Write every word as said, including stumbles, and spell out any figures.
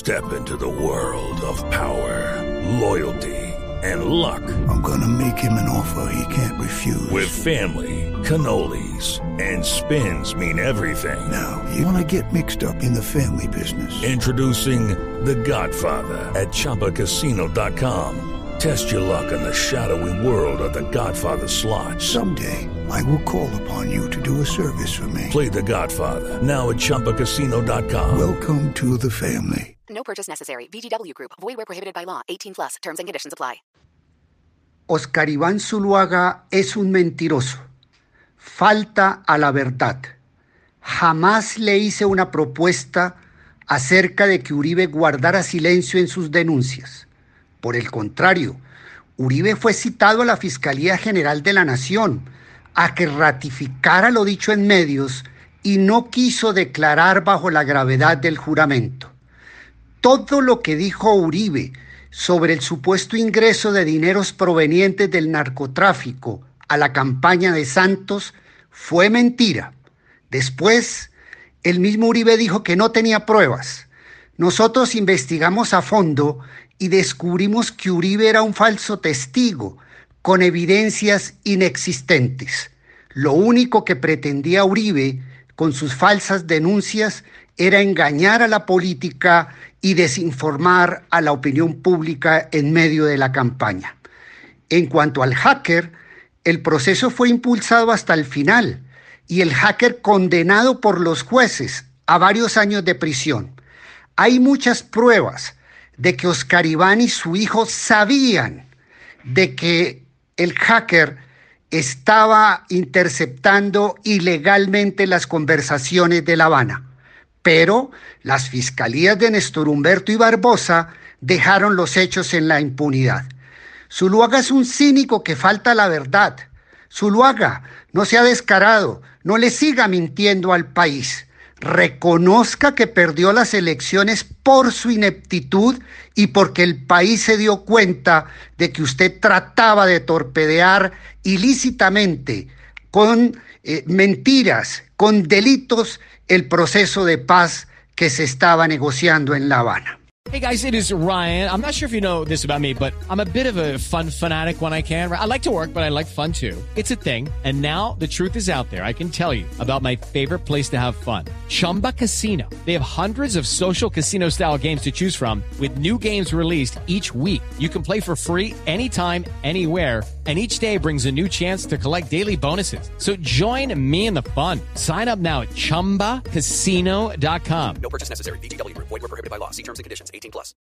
Step into the world of power, loyalty, and luck. I'm gonna make him an offer he can't refuse. With family, cannolis, and spins mean everything. Now, you wanna get mixed up in the family business. Introducing The Godfather at Chumba Casino dot com. Test your luck in the shadowy world of The Godfather slot. Someday, I will call upon you to do a service for me. Play The Godfather now at Chumba Casino dot com. Welcome to the family. No purchase necessary. V G W Group. Void where prohibited by law. eighteen plus. Terms and conditions apply. Oscar Iván Zuluaga es un mentiroso. Falta a la verdad. Jamás le hice una propuesta acerca de que Uribe guardara silencio en sus denuncias. Por el contrario, Uribe fue citado a la Fiscalía General de la Nación a que ratificara lo dicho en medios y no quiso declarar bajo la gravedad del juramento. Todo lo que dijo Uribe sobre el supuesto ingreso de dineros provenientes del narcotráfico a la campaña de Santos fue mentira. Después, el mismo Uribe dijo que no tenía pruebas. Nosotros investigamos a fondo y descubrimos que Uribe era un falso testigo con evidencias inexistentes. Lo único que pretendía Uribe con sus falsas denuncias era engañar a la política y desinformar a la opinión pública en medio de la campaña. En cuanto al hacker, el proceso fue impulsado hasta el final y el hacker condenado por los jueces a varios años de prisión. Hay muchas pruebas de que Oscar Iván y su hijo sabían de que el hacker estaba interceptando ilegalmente las conversaciones de La Habana. Pero las fiscalías de Néstor Humberto y Barbosa dejaron los hechos en la impunidad. Zuluaga es un cínico que falta la verdad. Zuluaga, no sea descarado, no le siga mintiendo al país. Reconozca que perdió las elecciones por su ineptitud y porque el país se dio cuenta de que usted trataba de torpedear ilícitamente, con eh, mentiras, con delitos, el proceso de paz que se estaba negociando en La Habana. Hey guys, it is Ryan. I'm not sure if you know this about me, but I'm a bit of a fun fanatic when I can. I like to work, but I like fun too. It's a thing. And now the truth is out there. I can tell you about my favorite place to have fun. Chumba Casino. They have hundreds of social casino style games to choose from with new games released each week. You can play for free anytime, anywhere. And each day brings a new chance to collect daily bonuses. So join me in the fun. Sign up now at Chumba Casino dot com. No purchase necessary. V G W Group. Void where prohibited by law. See terms and conditions. eighteen plus.